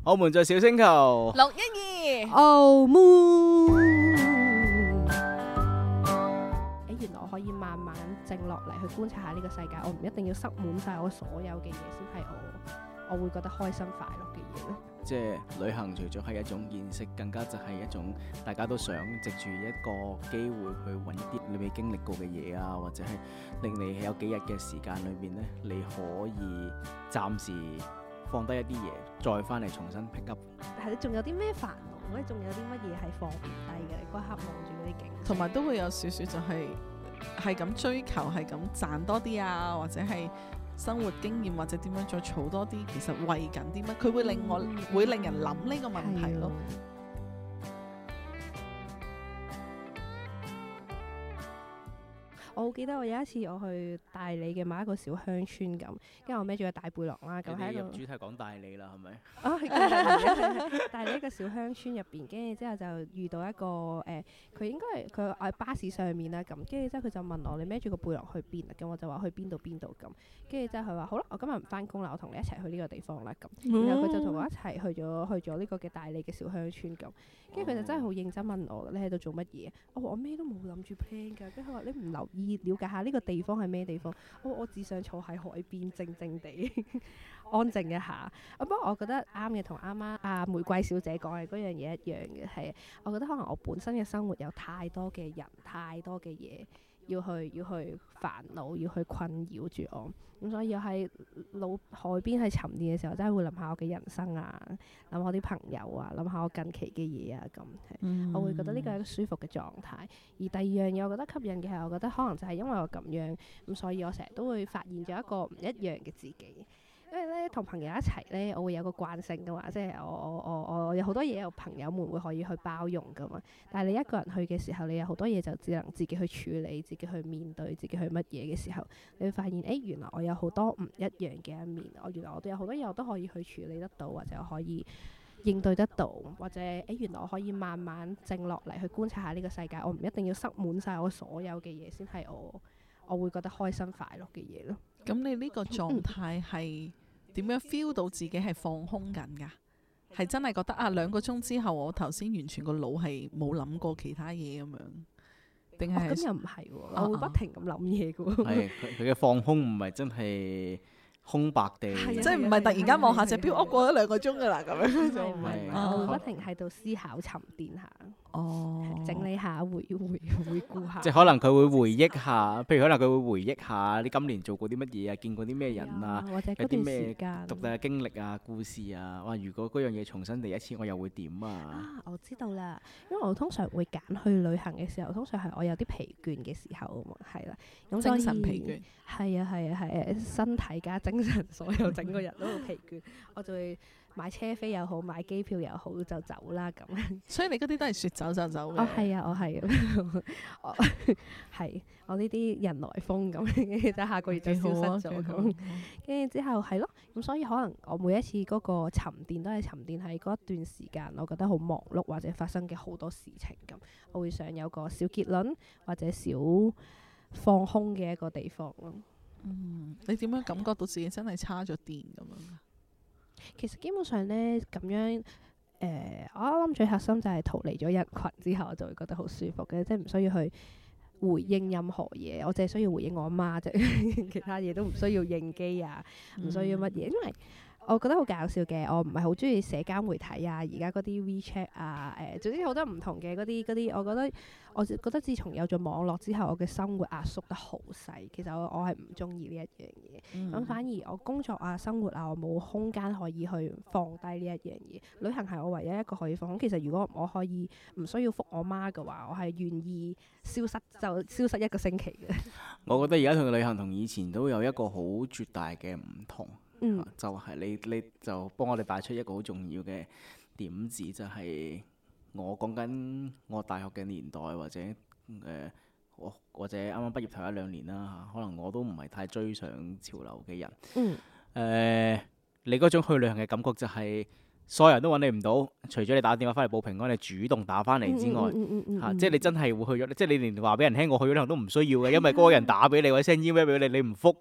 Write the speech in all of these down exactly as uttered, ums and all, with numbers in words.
我們在小星球六一二 Oh Moon。誒，原來我可以慢慢靜落嚟去觀察下呢個世界，我唔一定要塞滿晒我所有嘅嘢先係我，我會覺得開心快樂嘅嘢咯。 即係旅行，除咗係一種見識，更加就係一種大家都想藉住一個機會去揾啲你未經歷過嘅嘢啊，或者係令你有幾日嘅時間裏邊呢，你可以暫時放低一啲嘢，再翻嚟重新 pick up。 係你仲有啲咩煩惱？或者仲有啲乜嘢係放唔低嘅？你嗰刻望住嗰啲景， 同埋都會有少少就係係咁追求，係咁賺多啲啊，或者係生活經驗，或者點樣再儲多啲，其實為緊啲乜？佢會令我、嗯、會令人諗呢個問題咯。 我好記得我有一次我去大理嘅某一個小鄉村咁，跟住我孭住個大背囊啦，咁喺度。主題講大理啦，係咪？啊，係大理一個小鄉村入邊，跟住之後就遇到一個誒，佢、呃、應該係佢喺巴士上面啦，咁跟住之後佢就問我：你孭住個背囊去邊啊？咁我就話去邊度邊度咁。跟住之後佢話：好啦，我今日唔翻工啦，我同你一齊去呢個地方啦咁。然後佢就同我一齊去咗去咗呢個嘅大理嘅小鄉村咁。跟住佢就真係好認真問我：你喺度做乜嘢？我話我咩都冇諗住 plan 㗎。跟住佢話：你唔留意了解下呢個地方係咩地方？我我只想坐喺海邊靜靜地安靜一下。不過我覺得啱嘅，同啱啱阿玫瑰小姐講嘅嗰樣嘢一樣嘅，係我覺得可能我本身嘅生活有太多嘅人，太多嘅嘢要去要去煩惱，要去困擾住我。咁所以我喺老海邊喺沉澱嘅時候，真係會諗下我嘅人生啊，諗下我啲朋友啊，諗下我近期嘅嘢啊，咁、嗯、我會覺得呢個係一個舒服嘅狀態。而第二樣嘢我覺得吸引嘅係，我覺得可能就係因為我咁樣，咁所以我成日都會發現咗一個唔一樣嘅自己。因為咧同朋友一齊咧，我會有個慣性噶嘛，即係我我我我有好多嘢，有朋友們會可以去包容噶嘛。但係你一個人去嘅時候，你有好多嘢就只能自己去處理，自己去面對，自己去乜嘢嘅時候，你會發現誒、欸，原來我有好多唔一樣嘅一面。我原來我都有好多嘢我都可以去處理得到，或者我可以應對得到，或者誒、欸，原來我可以慢慢靜落嚟去觀察下呢個世界。我唔一定要塞滿晒我所有嘅嘢先係我，我會覺得開心快樂嘅嘢咯。 咁你呢個狀態係點樣 feel 到自己係放空緊㗎？係真係覺得啊，兩個鐘之後我頭先完全個腦係冇諗過其他嘢咁樣，定係？咁又唔係喎，我會不停咁諗嘢㗎喎。 係佢佢嘅放空唔係真係空白地， 即係唔係突然間望下隻錶，我過咗兩個鐘㗎啦咁樣就唔係。我會不停喺度思考沉澱下。哦，整理下，回回回顧下。 即係可能佢會回憶下，譬如可能佢會回憶下你今年做過啲乜嘢啊，見過啲咩人啊， 或者有啲咩獨特嘅經歷啊、故事啊。哇！如果嗰樣嘢重新嚟一次，我又會點啊？ 啊，我知道啦，因為我通常會揀去旅行嘅時候，通常係我有啲疲倦嘅時候啊嘛，係啦，咁所以精神疲倦。 係啊係啊係啊，身體加精神，所有整個人都好疲倦，我就會買車飛又好，買機票又好，就走啦咁。 所以你嗰啲都係説走就走嘅。 哦，係啊，我係啊，我係我呢啲人來瘋咁，就下個月就消失咗咁。跟住之後係咯，咁所以可能我每一次嗰個沉澱都係沉澱喺嗰一段時間，我覺得好忙碌或者發生嘅好多事情咁，我會想有個小結論或者小放空嘅一個地方咯。 嗯，你點樣感覺到自己真係叉咗電咁樣？ 其實基本上咧咁樣，誒、呃，我諗最核心就係逃離咗人群之後，我就會覺得好舒服嘅，即係唔需要去回應任何嘢，我淨係需要回應我阿媽啫，其他嘢都唔需要應機啊，唔需要乜嘢，因為我覺得好搞笑嘅，我唔係好中意社交媒體啊，而家嗰啲 WeChat 啊，誒、呃，總之好多唔同嘅嗰啲嗰啲，我覺得我覺得自從有咗網絡之後，我嘅生活壓縮得好細。其實我我係唔中意呢一樣嘢，咁、嗯、反而我工作啊、生活啊，我冇空間可以去放低呢一樣嘢。旅行係我唯一一個可以放空。其實如果我可以唔需要覆我媽嘅話，我係願意消失就消失一個星期嘅。 我覺得而家同旅行同以前都有一個好絕大嘅唔同。 嗯啊、就係、是、你你就幫我哋帶出一個好重要嘅點子，就係、是、我講緊我大學嘅年代，或者誒我、呃、或者啱啱畢業頭一兩年啦嚇，可能我都唔係太追上潮流嘅人。嗯。呃、你嗰種去旅行嘅感覺就係、是、所有人都揾你唔到，除咗你打電話翻嚟報平安，你主動打翻嚟之外，嚇，即係你真係會去咗，即係你連話俾人聽我去咗旅行都唔需要嘅，因為嗰個人打俾你或者 send email 俾你，你唔覆。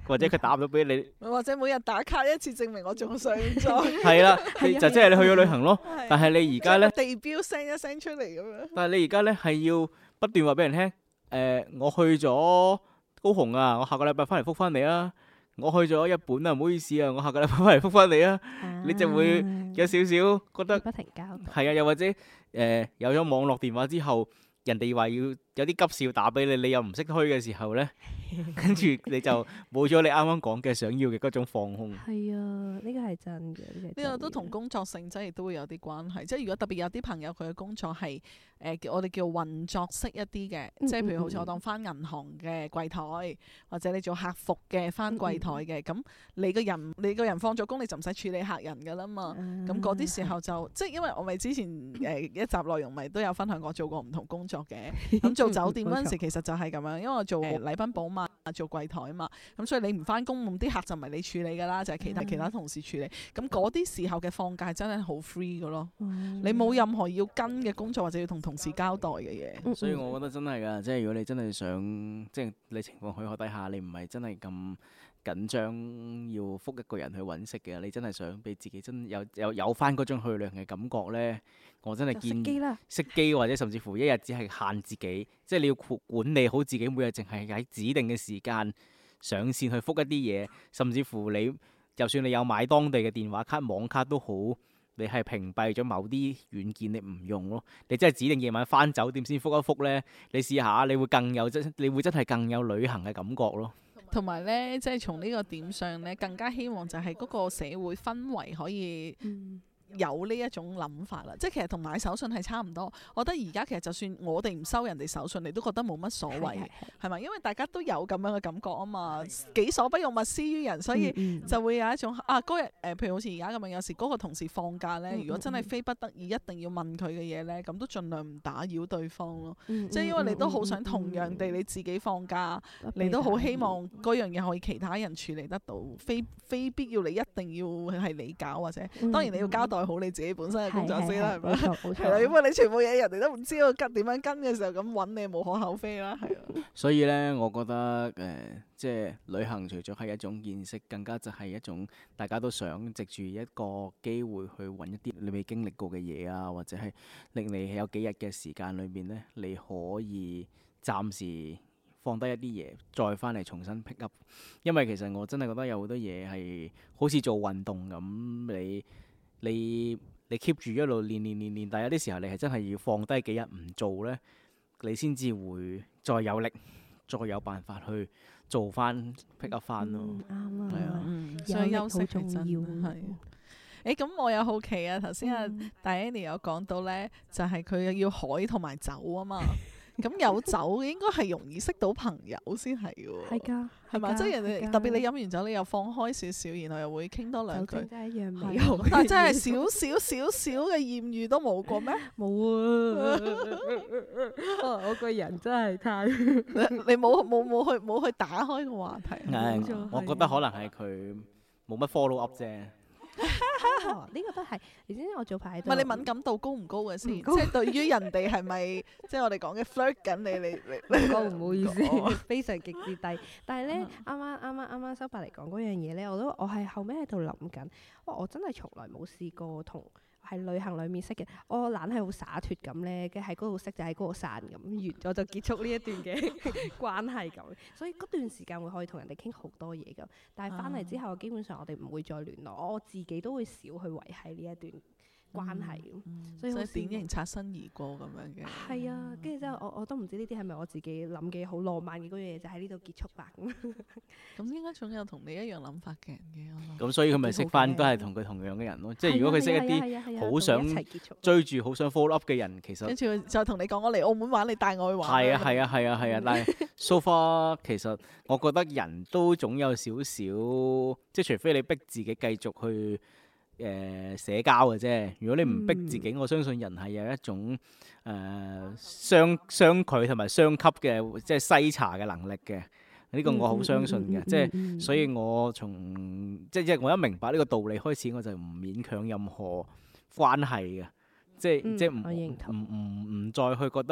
或者佢打唔到俾你， 或者每日打卡一次證明我仲上載。 係啦，就即係你去咗旅行咯。但係你而家咧， 地標 send 一 send 出嚟咁樣。 但係你而家咧係要不斷話俾人聽，誒、呃，我去咗高雄啊，我下個禮拜翻嚟覆翻你啊。我去咗日本啊，唔好意思啊，我下個禮拜翻嚟覆翻你啊。啊你就會有少少覺得不停交代。係啊，又或者誒、呃、有咗網絡電話之後，人哋話要有啲急事要打俾你，你又唔識推嘅時候咧，跟住你就冇咗你啱啱講嘅想要嘅嗰種放空。 係啊，呢個係真嘅。呢、 呢個都同工作性質亦都會有啲關係。即係如果特別有啲朋友佢嘅工作係誒、呃、我哋叫運作式一啲嘅，嗯、即係譬如好似我當翻銀行嘅櫃台，或者你做客服嘅翻櫃台嘅，咁、嗯、你個人你個人放咗工你就唔使處理客人㗎啦嘛。咁嗰啲時候就、嗯、即係因為我咪之前誒、呃、一集內容咪都有分享過做過唔同工作嘅。咁做酒店嗰陣時其實就係咁樣，因為我做禮賓寶嘛，做櫃台啊嘛，咁所以你唔翻工，咁啲客就唔係你處理㗎啦，就係、是、其他、嗯、其他同事處理。咁嗰啲時候嘅放假真係好 free 㗎咯，嗯、你冇任何要跟嘅工作或者要同同事交代嘅嘢。嗯、 所以我覺得真係㗎，即係如果你真係想，即係你情況許可底下，你唔係真係咁緊張要覆一個人去揾食嘅，你真係想俾自己真有有有翻嗰種去旅行嘅感覺咧，我真係建議熄機或者甚至乎一日只係限自己，即係你要管理好自己，每日淨係喺指定嘅時間上線去覆一啲嘢，甚至乎你就算你有買當地嘅電話卡、網卡都好，你係屏蔽咗某啲軟件你唔用咯，你真係指定夜晚翻酒店先覆一覆咧，你試下你會更有真，你會真係更有旅行嘅感覺咯。 同埋咧，即係從呢個點上咧，更加希望就係嗰個社會氛圍可以有呢一種諗法啦。即係其實同買手信係差唔多。我覺得而家其實就算我哋唔收人哋手信，你都覺得冇乜所謂，係咪？因為大家都有咁樣嘅感覺啊嘛。己所不欲，勿施於人，所以就會有一種啊嗰日誒，譬如好似而家咁樣，有時嗰個同事放假咧，如果真係非不得已一定要問佢嘅嘢咧，咁都盡量唔打擾對方咯。嗯嗯、即係因為你都好想同樣地你自己放假，嗯、你都好希望嗰樣嘢可以其他人處理得到，非非必要你一定要係你搞，或者當然你要交代好你自己本身嘅工作先啦，係咪？係啦，因為你全部嘢人哋都唔知道跟點樣跟嘅時候，咁揾你無可厚非啦，係啊。所以咧，我覺得誒、呃，即係旅行除咗係一種見識，更加就係一種大家都想藉住一個機會去揾一啲你未經歷過嘅嘢啊，或者係令你有幾日嘅時間裏邊咧，你可以暫時放低一啲嘢，再翻嚟重新 pick up。因為其實我真係覺得有好多嘢係好似做運動咁，你你你 keep 住一路練練練練，但係有啲時候你係真係要放低幾日唔做咧，你先至會再有力，再有辦法去做翻 pick up 翻咯。啱啊，係啊， 所以休息係真係。誒咁、欸、我有好奇啊，頭先阿 Diana 有講到咧，就係、是、佢要海同埋酒啊嘛。咁有酒應該係容易識到朋友先係喎。係㗎，係嘛？即係人哋特別你飲完酒，你又放開少少，然後又會傾多兩句。酒精真係一樣美好。但係真係少少少少嘅豔遇都冇過咩？冇啊！我個人真係太你冇冇冇去冇去打開個話題。 嗯、我覺得可能係佢冇乜 follow up 啫。 呢、哦這個都係，你知唔知我早排喺度？ 唔係你敏感度高唔高嘅先？高即係對於人哋係咪即係我哋講嘅 flirt 緊你？你你高唔好意思，非常極之低。但係咧，啱啱啱啱啱啱修伯嚟講嗰樣嘢咧，我都我係後尾喺度諗緊，哇！我真係從來冇試過同喺旅行裡面識嘅，我懶係好灑脱咁咧，跟喺嗰度識就喺嗰度散咁，完咗就結束呢一段嘅關係咁。所以嗰段時間會可以同人哋傾好多嘢㗎，但係翻嚟之後，基本上我哋唔會再聯絡，我自己都會少去維繫呢一段關係，嗯嗯、所以好典型擦身而過咁樣嘅。 係啊，跟住之後我我都唔知呢啲係咪我自己諗嘅好浪漫嘅嗰樣嘢，就喺呢度結束吧。 咁應該總有同你一樣諗法嘅人嘅。 咁所以佢咪識翻都係同佢同樣嘅人咯。即係如果佢識一啲好想追住、好想 follow up 嘅人，其實跟住就同你講我嚟澳門玩，你帶我去玩。 係啊係啊係啊係啊！但係 so far 其實我覺得人都總有少少，即係除非你逼自己繼續去。誒、呃、社交嘅啫，如果你唔逼自己，嗯、我相信人係有一種誒、呃、相相距同埋相吸嘅，即係篩查嘅能力嘅。呢、呢個我好相信嘅，即係所以我從即係我一明白呢個道理開始，我就唔勉強任何關係嘅，即係、嗯、即係唔唔唔唔再去覺得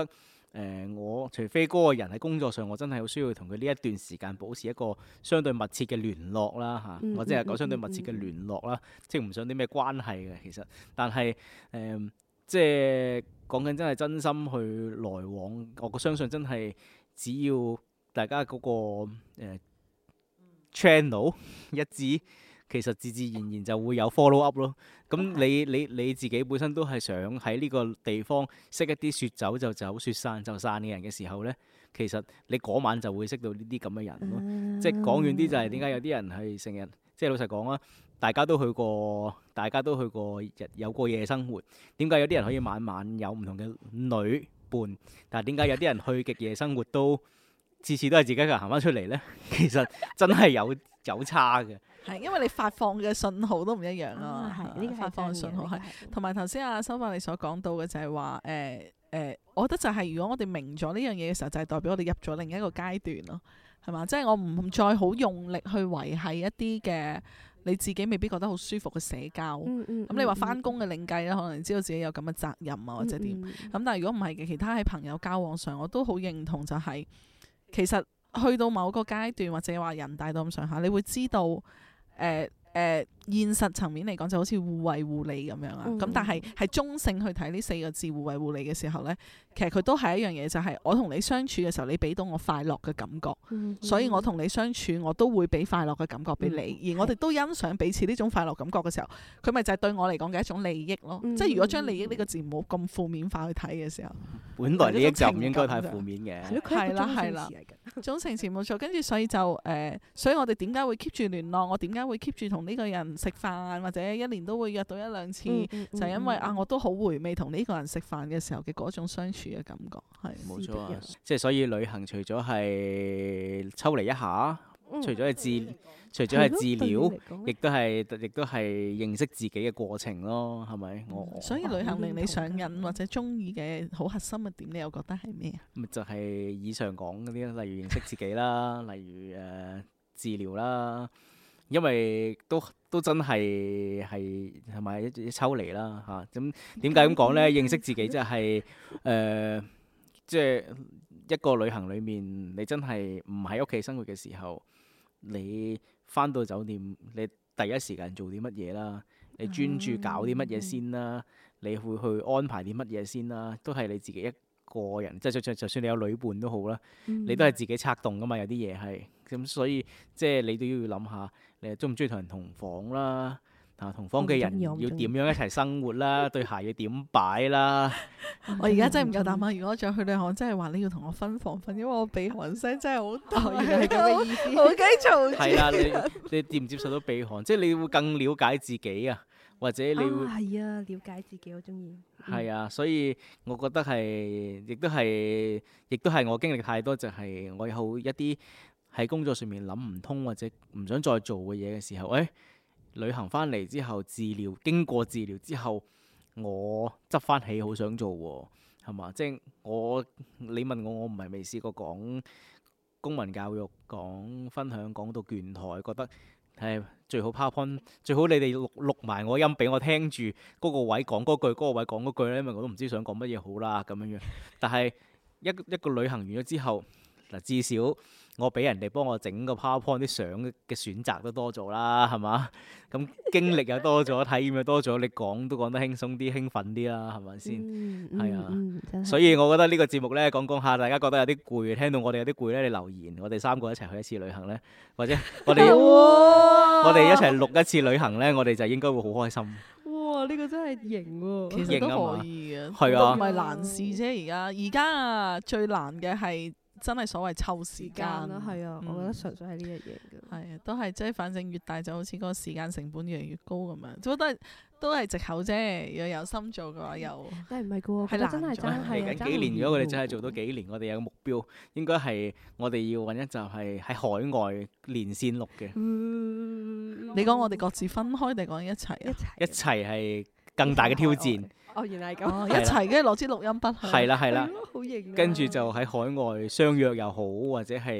呃，我除非嗰個人喺工作上，我真係好需要同佢呢一段時間保持一個相對密切嘅聯絡啦嚇， 嗯、 或者係講相對密切嘅聯絡啦，嗯嗯嗯、即係唔想啲咩關係嘅其實，但係誒、呃、即係講緊真係真心去來往，我相信真係只要大家嗰、嗰個、呃、channel 一致。其實自自然然就會有 follow up 咯。咁你你你自己本身都係想喺呢個地方識一啲説走就走、説散就散嘅人嘅時候呢，其實你嗰晚就會識到呢啲咁嘅人咯。嗯、即係講遠啲就係點解有啲人係成日，即係老實講啊，大家都去過，大家都去過日有過夜生活。點解有啲人可以晚晚有唔同嘅女伴，但係點解有啲人去極夜生活都次次都係自己一個人行翻出嚟呢？其實真係有有差嘅。 係，因為你發放嘅信號都唔一樣啊。 係、啊，呢個發放嘅信號係，同埋頭先阿修法你所講到嘅就係話，誒、呃、誒、呃，我覺得就係如果我哋明咗呢樣嘢嘅時候，就係、是、代表我哋入咗另一個階段咯，係嘛？即、就、係、是、我唔再好用力去維繫一啲嘅你自己未必覺得好舒服嘅社交。咁、嗯嗯、你話返工嘅另計啦，可能你知道自己有咁嘅責任啊，或者點。咁、嗯嗯、但係如果唔係嘅，其他喺朋友交往上，我都好認同就係、是，其實去到某個階段或者話人大到咁上下，你會知道。誒誒、呃呃，現實層面嚟講就好似互惠互利咁樣啊，咁、嗯、但係係中性去睇呢四個字互惠互利嘅時候呢，其實佢都係一樣嘢，就係、是、我同你相處嘅時候，你俾到我快樂嘅感覺，嗯、所以我同你相處，我都會俾快樂嘅感覺俾你，嗯、而我哋都欣賞彼此呢種快樂感覺嘅時候，佢咪就係對我嚟講嘅一種利益咯。嗯、即係如果將利益呢個字唔好咁負面化去睇嘅時候， 本來利益就唔應該太負面嘅， 係啦係啦，中性詞冇錯。跟住所以就誒、呃，所以我哋點解會 keep 住聯絡？我點解會 keep 住同呢個人食飯，或者一年都會約到一兩次，嗯嗯嗯、就係因為啊，我都好回味同呢個人食飯嘅時候嘅嗰種相處嘅感覺，係冇錯啊！即係所以旅行除咗係抽離一下，嗯、除咗係治，除咗係治療，亦都係亦都係認識自己嘅過程咯，係咪？我、嗯、 所以旅行令你上癮或者中意嘅好核心嘅點，你又覺得係咩啊？ 咪就係以上講嗰啲，例如認識自己啦，例如誒、呃、治療啦。因為都都真係係係咪一抽離啦嚇？咁點解咁講呢？認識自己即係誒，即係一個旅行裡面，你真係唔喺屋企生活嘅時候，你返到酒店，你第一時間做啲乜嘢啦？你專注搞啲乜嘢先啦？你會去安排啲乜嘢先啦？都係你自己一個人，即係就就算你有旅伴都好啦，你都係自己策動噶嘛。有啲嘢係咁，所以即係你都要諗下。你中唔中意同人同房啦？啊，同房嘅人要點樣一齊生活啦？對鞋要點擺啦？ 我而家真係唔夠膽啊！如果再去旅行，真係話你要同我分房瞓，因為我鼻鼾聲真係好大。原來係咁嘅意思。好驚嘈住。 係啊，你你接唔接受到鼻鼾？即係你會更了解自己啊，或者你會係啊，了解自己，我中意。 係啊，所以我覺得係，亦都係，亦都係我經歷太多，就係我有一啲。喺工作上面諗唔通或者唔想再做嘅嘢嘅時候，誒、哎、旅行翻嚟之後治療，經過治療之後，我執翻起好想做喎，係嘛？即係我你問我，我唔係未試過講公民教育，講分享，講到倦台，覺得係最好 PowerPoint，最好你哋錄錄埋我音俾我聽住嗰個位講嗰句，嗰、嗰個位講嗰句咧，因為我都唔知想講乜嘢好啦咁樣樣。但係一一個旅行完咗之後，嗱至少。我俾人哋幫我整個 PowerPoint 啲相嘅選擇都多咗啦，係嘛？咁經歷又多咗，體驗又多咗，你講都講得輕鬆啲、興奮啲啦，係咪先？係啊，嗯、所以我覺得呢個節目咧講講下，大家覺得有啲攰，聽到我哋有啲攰咧，你留言，我哋三個一齊去一次旅行咧，或者我哋我哋一齊錄一次旅行咧，我哋就應該會好開心。 哇！呢、呢個真係型喎， 其實都可以嘅， 係啊， 唔係難事啫。而家而家啊，最難嘅係。真係所謂湊時間啦，係啊，嗯、我覺得純粹係呢一樣嘅。 係啊，都係即係，反正越大就好似嗰個時間成本越嚟越高咁樣，都都係都係藉口啫。如果有心做嘅話，又但係唔係嘅喎，係啦，真係真係嚟緊幾年。如果我哋真係做到幾年，我哋有個目標，應該係我哋要揾一集係喺海外連線錄嘅。 嗯、你講我哋各自分開定講一齊啊？ 一齊一齊係更大嘅挑戰。 哦，原來係咁， 哦、一齊跟住攞支錄音筆去。 係啦係啦， 好型。 跟住就喺海外相約又好，或者係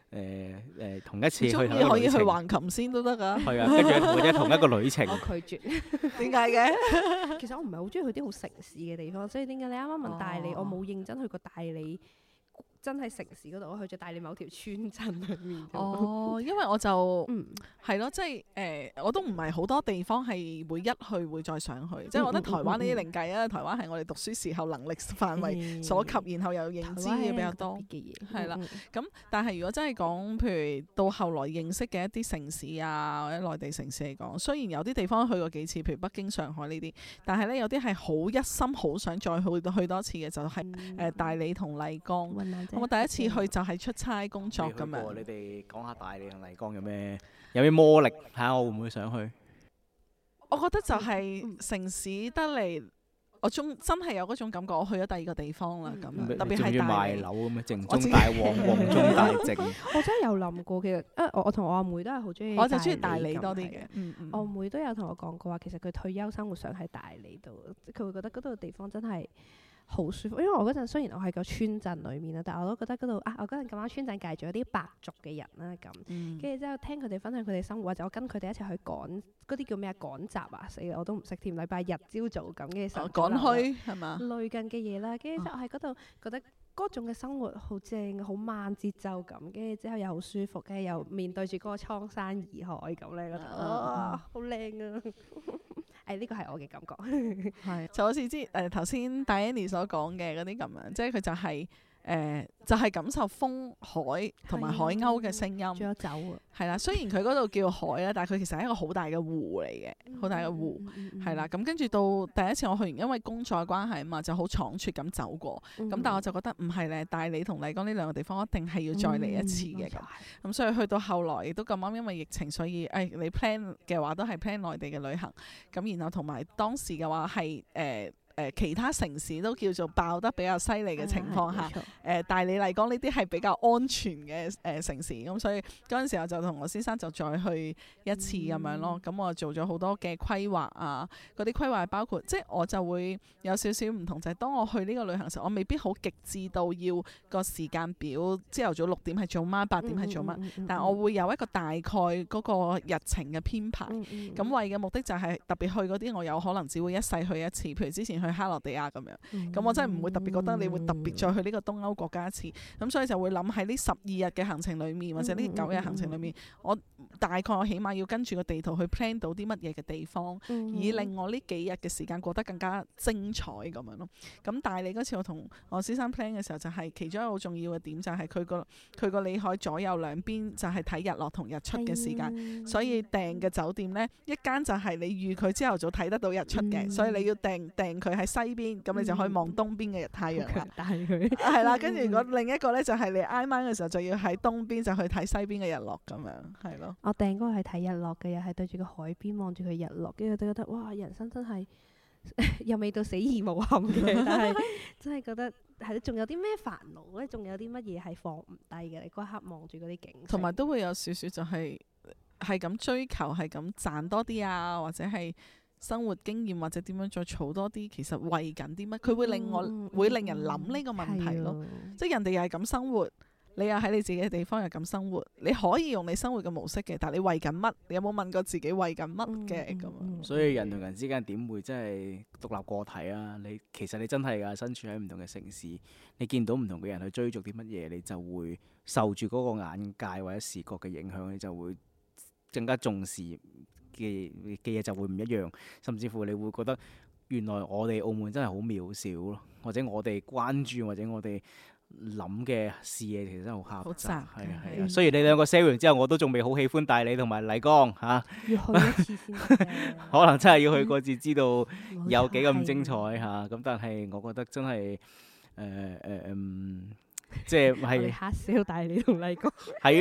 誒誒同一次去中意可以去橫琴先都得㗎。 係啊，跟住或者同一個旅程。 我拒絕。 點解嘅？ 其實我唔係好中意去啲好城市嘅地方，所以點解你啱啱問大理，哦、我冇認真去過大理。真係城市嗰度，我去咗大理某條村鎮裏面。 哦，因為我就係咯，即係誒，我都唔係好多地方係會一去會再想去。嗯、即係我覺得台灣呢啲另計啊，嗯、台灣係我哋讀書時候能力範圍所及，嗯、然後又認知嘅比較多嘅嘢。係啦，咁但係如果真係講，譬如到後來認識嘅一啲城市啊，或者內地城市嚟講，雖然有啲地方去過幾次，譬如北京、上海呢啲，但係咧有啲係好一心好想再去去多次嘅，就係、是、誒、嗯呃、大理同麗江。嗯我第一次去就係出差工作咁樣。 你哋講下大理同麗江有咩有咩魔力？睇下我會唔會想去？ 我覺得就係城市得嚟，我中真係有嗰種感覺。我去咗第二個地方啦，咁、嗯、特別係大理。賣樓咁樣，靜中帶旺，旺中帶靜。 我真係有諗過，其實啊，我我同我阿妹都係好中意。 我就中意大理多啲嘅。 嗯嗯、我阿妹都有同我講過話，其實佢退休生活想喺大理度，佢會覺得嗰度地方真係好舒服，因為我嗰陣雖然我喺個村鎮裏面啦，但係我都覺得嗰度啊，我嗰陣咁啱村鎮介咗啲白族嘅人啦，咁，跟住之後聽佢哋分享佢哋生活，或者我跟佢哋一齊去趕嗰啲叫咩啊趕集啊，死啦我都唔識添，禮拜日朝早咁嘅時候趕去係嘛類近嘅嘢啦，跟住之後我喺嗰度覺得嗰種嘅生活好正，好慢節奏咁，跟住之後又好舒服，跟住又面對住嗰個蒼山洱海咁咧，覺得啊好靚啊！誒呢個係我嘅感覺， 係就好似之誒頭先 Diana 所講嘅嗰啲咁樣，即係佢就係、是。誒、呃、就係、是、感受風海同埋海鷗嘅聲音，仲有酒啊， 係啦。雖然佢嗰度叫海啦，但係佢其實係一個好大嘅湖嚟嘅，好、嗯、大嘅湖，係啦、嗯。咁跟住到第一次我去完，因為工作關係啊嘛，就好倉促咁走過。咁、嗯、但係我就覺得唔係咧，大理同麗江呢兩個地方一定係要再嚟一次嘅咁。咁、嗯、所以去到後來亦都咁啱，因為疫情，所以誒、哎、你 plan 嘅話都係 plan 內地嘅旅行。咁然後同埋當時嘅話係誒。呃誒、呃、其他城市都叫做爆得比較犀利嘅情況下，誒、嗯呃、大理麗江呢啲係比較安全嘅誒、呃、城市，咁所以嗰陣時候就同我先生就再去一次咁樣咯。咁、嗯、我做咗好多嘅規劃啊，嗰啲規劃包括即係我就會有少少唔同，就係、是、當我去呢個旅行時，我未必好極致到要個時間表，朝頭早六點係做乜，八點係做乜，嗯嗯嗯、但我會有一個大概嗰個日程嘅編排。咁、嗯嗯嗯、為嘅目的就係特別去嗰啲我有可能只會一世去一次，譬如之前去去克羅地亞咁樣，咁、嗯、我真係唔會特別覺得你會特別再去呢個東歐國家一次，咁、嗯、所以就會諗喺呢十二日嘅行程裡面，或者呢九日行程裡面，嗯、我大概我起碼要跟住個地圖去 plan 到啲乜嘢嘅地方，嗯、以令我呢幾日嘅時間過得更加精彩咁樣咯。咁大理嗰次我同我先生 plan 嘅時候，就係、是、其中一個好重要嘅點，就係佢個佢個裏海左右兩邊就係睇日落同日出嘅時間，嗯、所以訂嘅酒店呢，一間就係你預佢朝頭早睇得到日出嘅，嗯、所以你要訂訂佢喺西邊，咁你就可以望東邊嘅日太陽啦。但係佢係啦，跟住如果另一個咧就係你挨晚嘅時候就要喺東邊就去睇西邊嘅日落咁樣，係咯。 我訂嗰個係睇日落嘅，又係對住個海邊望住佢日落，跟住都覺得哇，人生真係又未到死而無憾嘅，但係真係覺得係仲有啲咩煩惱咧？仲有啲乜嘢係放唔低嘅？你嗰一刻望住嗰啲景， 同埋都會有少少就係係咁追求，係咁賺多啲啊，或者係。生活經驗或者點樣再儲多啲，其實為緊啲乜？佢會令我、嗯、會令人諗呢個問題咯。嗯、即係人哋又係咁生活，你又喺你自己嘅地方又咁生活，你可以用你生活嘅模式嘅，但係你為緊乜？你有冇問過自己為緊乜嘅咁啊？嗯嗯、 所以人同人之間點會真係獨立個體啊？你其實你真係㗎，身處喺唔同嘅城市，你見到唔同嘅人去追逐啲乜嘢，你就會受住嗰個眼界或者視覺嘅影響，你就會更加重視。嘅嘅嘢就會唔一樣，甚至乎你會覺得原來我哋澳門真係好渺小咯，或者我哋關注或者我哋諗嘅視野其實真係好狹窄，係啊係啊。雖然你兩個 share 完之後，我都仲未好喜歡大理同埋麗江嚇，要去一次先可能真係要去過至知道有幾咁精彩嚇。咁但係我覺得真係誒誒嗯。即係係黑笑大理同麗江係咯，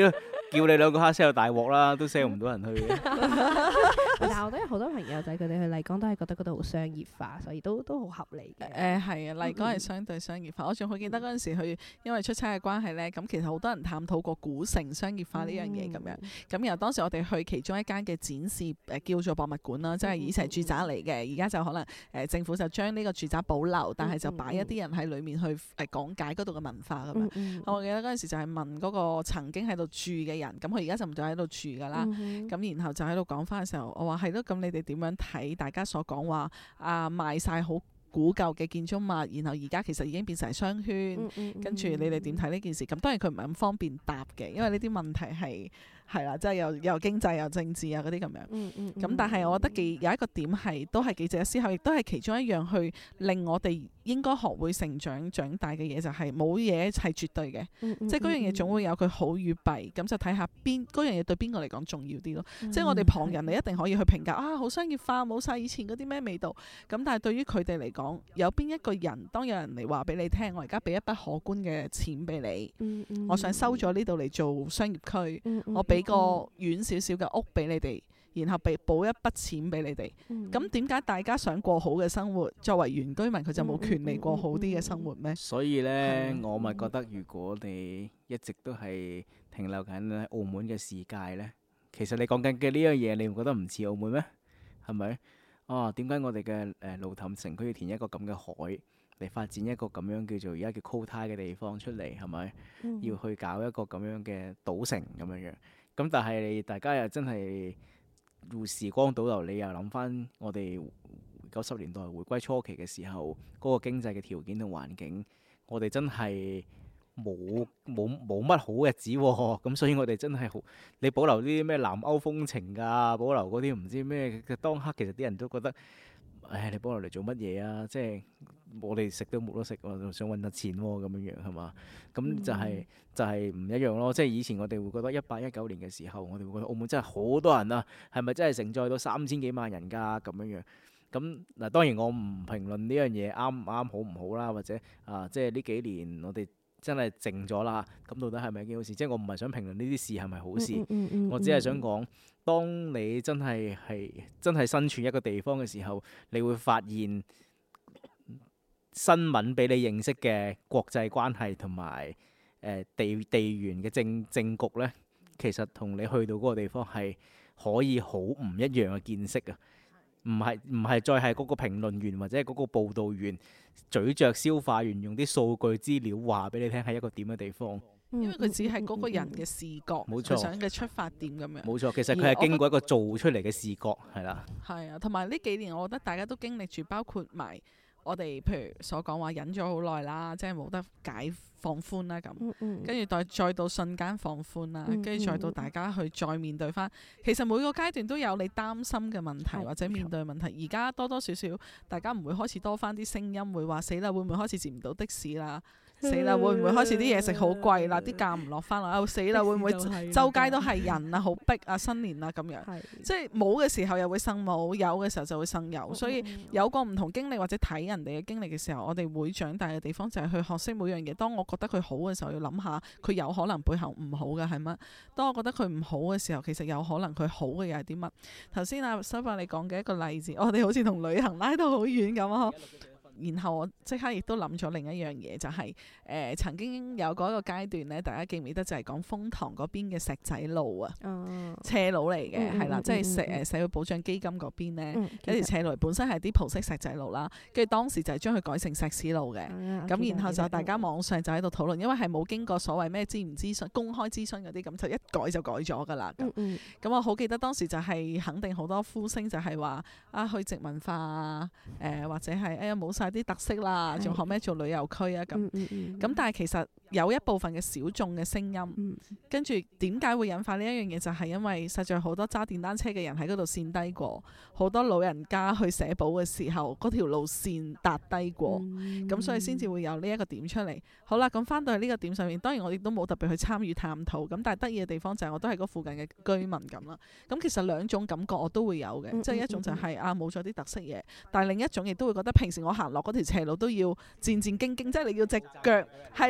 叫你兩個黑 sell 大鑊啦，都 sell 唔到人去嘅。 但係我都有好多朋友仔，佢哋去麗江都係覺得嗰度好商業化，所以都都好合理嘅。 誒係啊，麗江係相對商業化。嗯、我仲好記得嗰陣時去，因為出差嘅關係咧，咁其實好多人探討過古城商業化呢樣嘢咁樣。咁、嗯、然後當時我哋去其中一間嘅展示誒、呃、叫做博物館啦，即係以前係住宅嚟嘅，而家就可能誒、呃、政府就將呢個住宅保留，但係就擺一啲人喺裡面去誒、呃、講解嗰度嘅文化咁樣。嗯嗯、我記得嗰陣時就係問嗰個曾經喺度住嘅人，咁佢而家就唔再喺度住㗎啦。咁、嗯、然後就喺度講翻嘅時候，我話係咯，咁你哋點樣睇大家所講話啊賣晒好古舊嘅建築物，然後而家其實已經變成商圈，嗯嗯嗯、跟住你哋點睇呢件事？咁當然佢唔係咁方便答嘅，因為呢啲問題係。係啦，即係又又經濟又政治啊嗰啲咁樣。咁、嗯嗯嗯、但係我覺得幾有一個點係都係幾值得思考，亦都係其中一樣去令我哋應該學會成長長大嘅嘢，就係冇嘢係絕對嘅。嗯嗯、即係嗰樣嘢總會有佢好與弊，咁就睇下邊嗰樣嘢對邊個嚟講重要啲咯。嗯、即係我哋旁人你一定可以去評價啊，好商業化，冇晒以前嗰啲咩味道。咁但係對於佢哋嚟講，有邊一個人當有人嚟話俾你聽，我而家俾一筆可觀嘅錢俾你，嗯嗯、我想收咗呢度嚟做商業區，嗯嗯、我俾。俾個遠少少嘅屋俾你哋，然後俾補一筆錢俾你哋。咁點解大家想過好嘅生活，作為原居民佢就冇權利過好啲嘅生活咩？ 所以呢，嗎我咪覺得如果你一直都係停留緊喺澳門嘅世界呢，其實你講緊嘅呢樣嘢，你唔覺得唔似澳門咩？係咪？啊，點解我哋嘅誒路氹城區要填一個咁嘅海嚟發展一個咁樣叫做而家叫 quota 嘅地方出嚟？係咪？嗯、要去搞一個咁樣嘅賭城咁樣樣？咁但係大家又真係時光倒流，你又諗翻我哋九十年代回歸初期嘅時候，嗰、那個經濟嘅條件同環境，我哋真係冇冇冇乜好日子喎、啊。咁所以我哋真係好，你保留啲咩南歐風情啊，保留嗰啲唔知咩嘅當刻，其實啲人都覺得，唉，你保留嚟做乜嘢啊？即係我哋食都冇得食，我想揾得錢喎、啊，咁樣樣係嘛？咁就係、是嗯、就係唔一樣咯。即係以前我哋會覺得一八一九年嘅時候，我哋會覺得澳門真係好多人啊，係咪真係承載到三千幾萬人㗎咁樣樣？咁嗱，當然我唔評論呢樣嘢啱唔啱好唔好啦，或者啊，即係呢幾年我哋真係靜咗啦。咁到底係咪一件好事？即係我唔係想評論呢啲事係咪好事，嗯嗯嗯嗯、我只係想講，當你真係係真係身處一個地方嘅時候，你會發現新聞俾你認識嘅國際關係同埋誒地地緣嘅政政局呢，其實同你去到嗰個地方係可以好唔一樣嘅見識啊！唔係唔係再係嗰個評論員或者係嗰個報導員咀嚼消化完用啲數據資料話俾你聽係一個點嘅地方， 因為佢只係嗰個人嘅視覺，冇錯，佢想嘅出發點咁樣。冇錯， 其實佢係經過一個做出嚟嘅視覺，係啦。係啊，同埋呢幾年我覺得大家都經歷住，包括埋我哋譬如所講話忍咗好耐啦，即係冇得解放寬啦咁，跟住再再到瞬間放寬啦，跟住、嗯嗯、再到大家去再面對翻。其實每個階段都有你擔心嘅問題、嗯、或者面對嘅問題。而家多多少少大家唔會開始多翻啲聲音，會話死啦，會唔會開始接唔到的士啦？死啦！會唔會開始啲嘢食好貴啦？啲價唔落翻啦？死啦！會唔會周街都係人啊？好逼啊！新年啊咁樣，是即係冇嘅時候又會生冇，有嘅時候就會生有。所以有個唔同經歷或者睇人哋嘅經歷嘅時候，我哋會長大嘅地方就係去學識每樣嘢。當我覺得佢好嘅時候，要諗下佢有可能背後唔好嘅係乜。當我覺得佢唔好嘅時候，其實有可能佢好嘅又係啲乜。頭先阿修伯你講嘅一個例子，我哋好似同旅行拉到好遠咁啊！然後我即刻亦都諗咗另一樣嘢，就係、是、誒、呃、曾經有嗰個階段咧，大家記唔記得就係講風塘嗰邊嘅石仔路啊，哦、斜路嚟嘅，係啦，即係社誒社會保障基金嗰邊咧，有條、嗯、斜路本身係啲葡式石仔路啦，跟住當時就係將佢改成石屎路嘅，咁、嗯、然後就大家網上就喺度討論，因為係冇經過所謂咩諮唔諮詢、公開諮詢嗰啲，咁就一改就改咗㗎啦。咁、嗯嗯、我好記得當時就係肯定好多呼聲，就係話啊去殖文化啊，誒、呃、或者係哎呀冇晒啲特色啦，仲學咩做旅遊區啊咁，咁、嗯嗯、但係其實有一部分嘅小眾嘅聲音，嗯、跟住點解會引發呢一樣嘢？就係、是、因為實在好多揸電單車嘅人喺嗰度跣低過，好多老人家去社保嘅時候，嗰條路線搭低過，咁、嗯、所以先至會有呢一個點出嚟。好啦，咁翻到去呢個點上面，當然我亦都冇特別去參與探討，咁但係得意嘅地方就係我都係嗰附近嘅居民咁啦。咁其實兩種感覺我都會有嘅，嗯、即係一種就係、是嗯、啊冇咗啲特色嘢，但係另一種亦都會覺得平時我行落嗰條斜路都要戰戰兢兢，即係你要隻腳係啦係啦。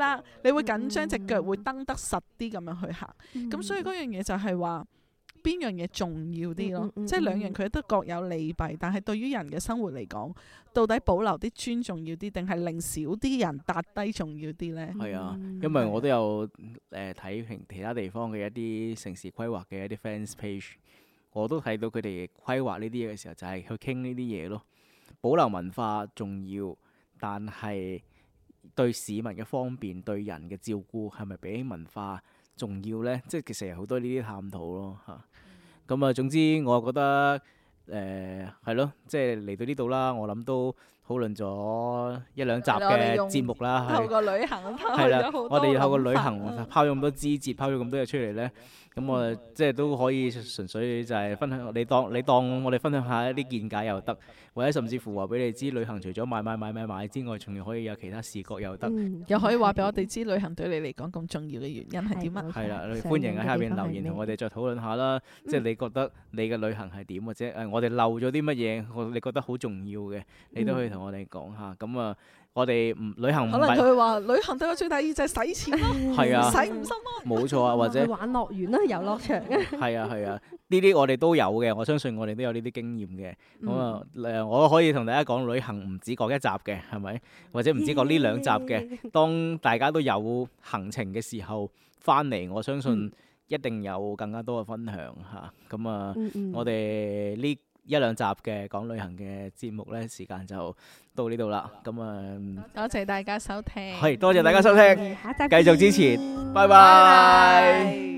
啦，你會緊張隻腳會蹬得實啲咁樣去行。咁、嗯、所以嗰樣嘢就係話邊樣嘢重要啲咯？嗯嗯嗯、即係兩樣佢都各有利弊，但係對於人嘅生活嚟講，到底保留啲磚重要啲，定係令少啲人搭低重要啲呢？ 係啊，因為我都有誒睇平其他地方嘅一啲城市規劃嘅一啲 fans page，我都睇到佢哋規劃呢啲嘢嘅時候，就係去傾呢啲嘢咯。保留文化重要，但係對市民嘅方便、對人嘅照顧係咪比文化重要呢？即係其實有好多呢啲探討咯嚇。咁、嗯、啊，總之我覺得誒係咯，即係嚟到呢度啦，我諗都討論咗一兩集嘅節目啦。 透過旅行係啦，我哋透過旅行拋咗咁多枝節，拋咗咁多嘢出嚟呢。咁我哋即係都可以純粹就係分享，你當你當我哋分享下一啲見解又得，或者甚至乎話俾你知，旅行除咗買買買買買之外，仲要可以有其他視覺又得， 嗯、又可以話俾我哋知旅行對你嚟講咁重要嘅原因係點啊？ 係啦，歡迎喺下邊留言同我哋再討論下啦。嗯、即係你覺得你嘅旅行係點，或者誒我哋漏咗啲乜嘢，我你覺得好重要嘅，你都可以同我哋講下。咁啊、嗯，我哋唔旅行唔係可能佢話旅行對我最大意義就係使錢咯，係啊，使唔心咯， 冇錯啊，或者去玩樂園啦，遊樂場啊， 係啊係啊，呢啲我哋都有嘅，我相信我哋都有呢啲經驗嘅。咁啊誒，我可以同大家講，旅行唔止講一集嘅，係咪？或者唔止講呢兩集嘅。當大家都有行程嘅時候，翻嚟我相信一定有更加多嘅分享嚇。咁啊，嗯嗯、我哋呢一兩集嘅講旅行嘅節目咧，時間就到呢度啦。咁啊， 多謝大家收聽， 係多謝大家收聽，繼續支持，拜拜。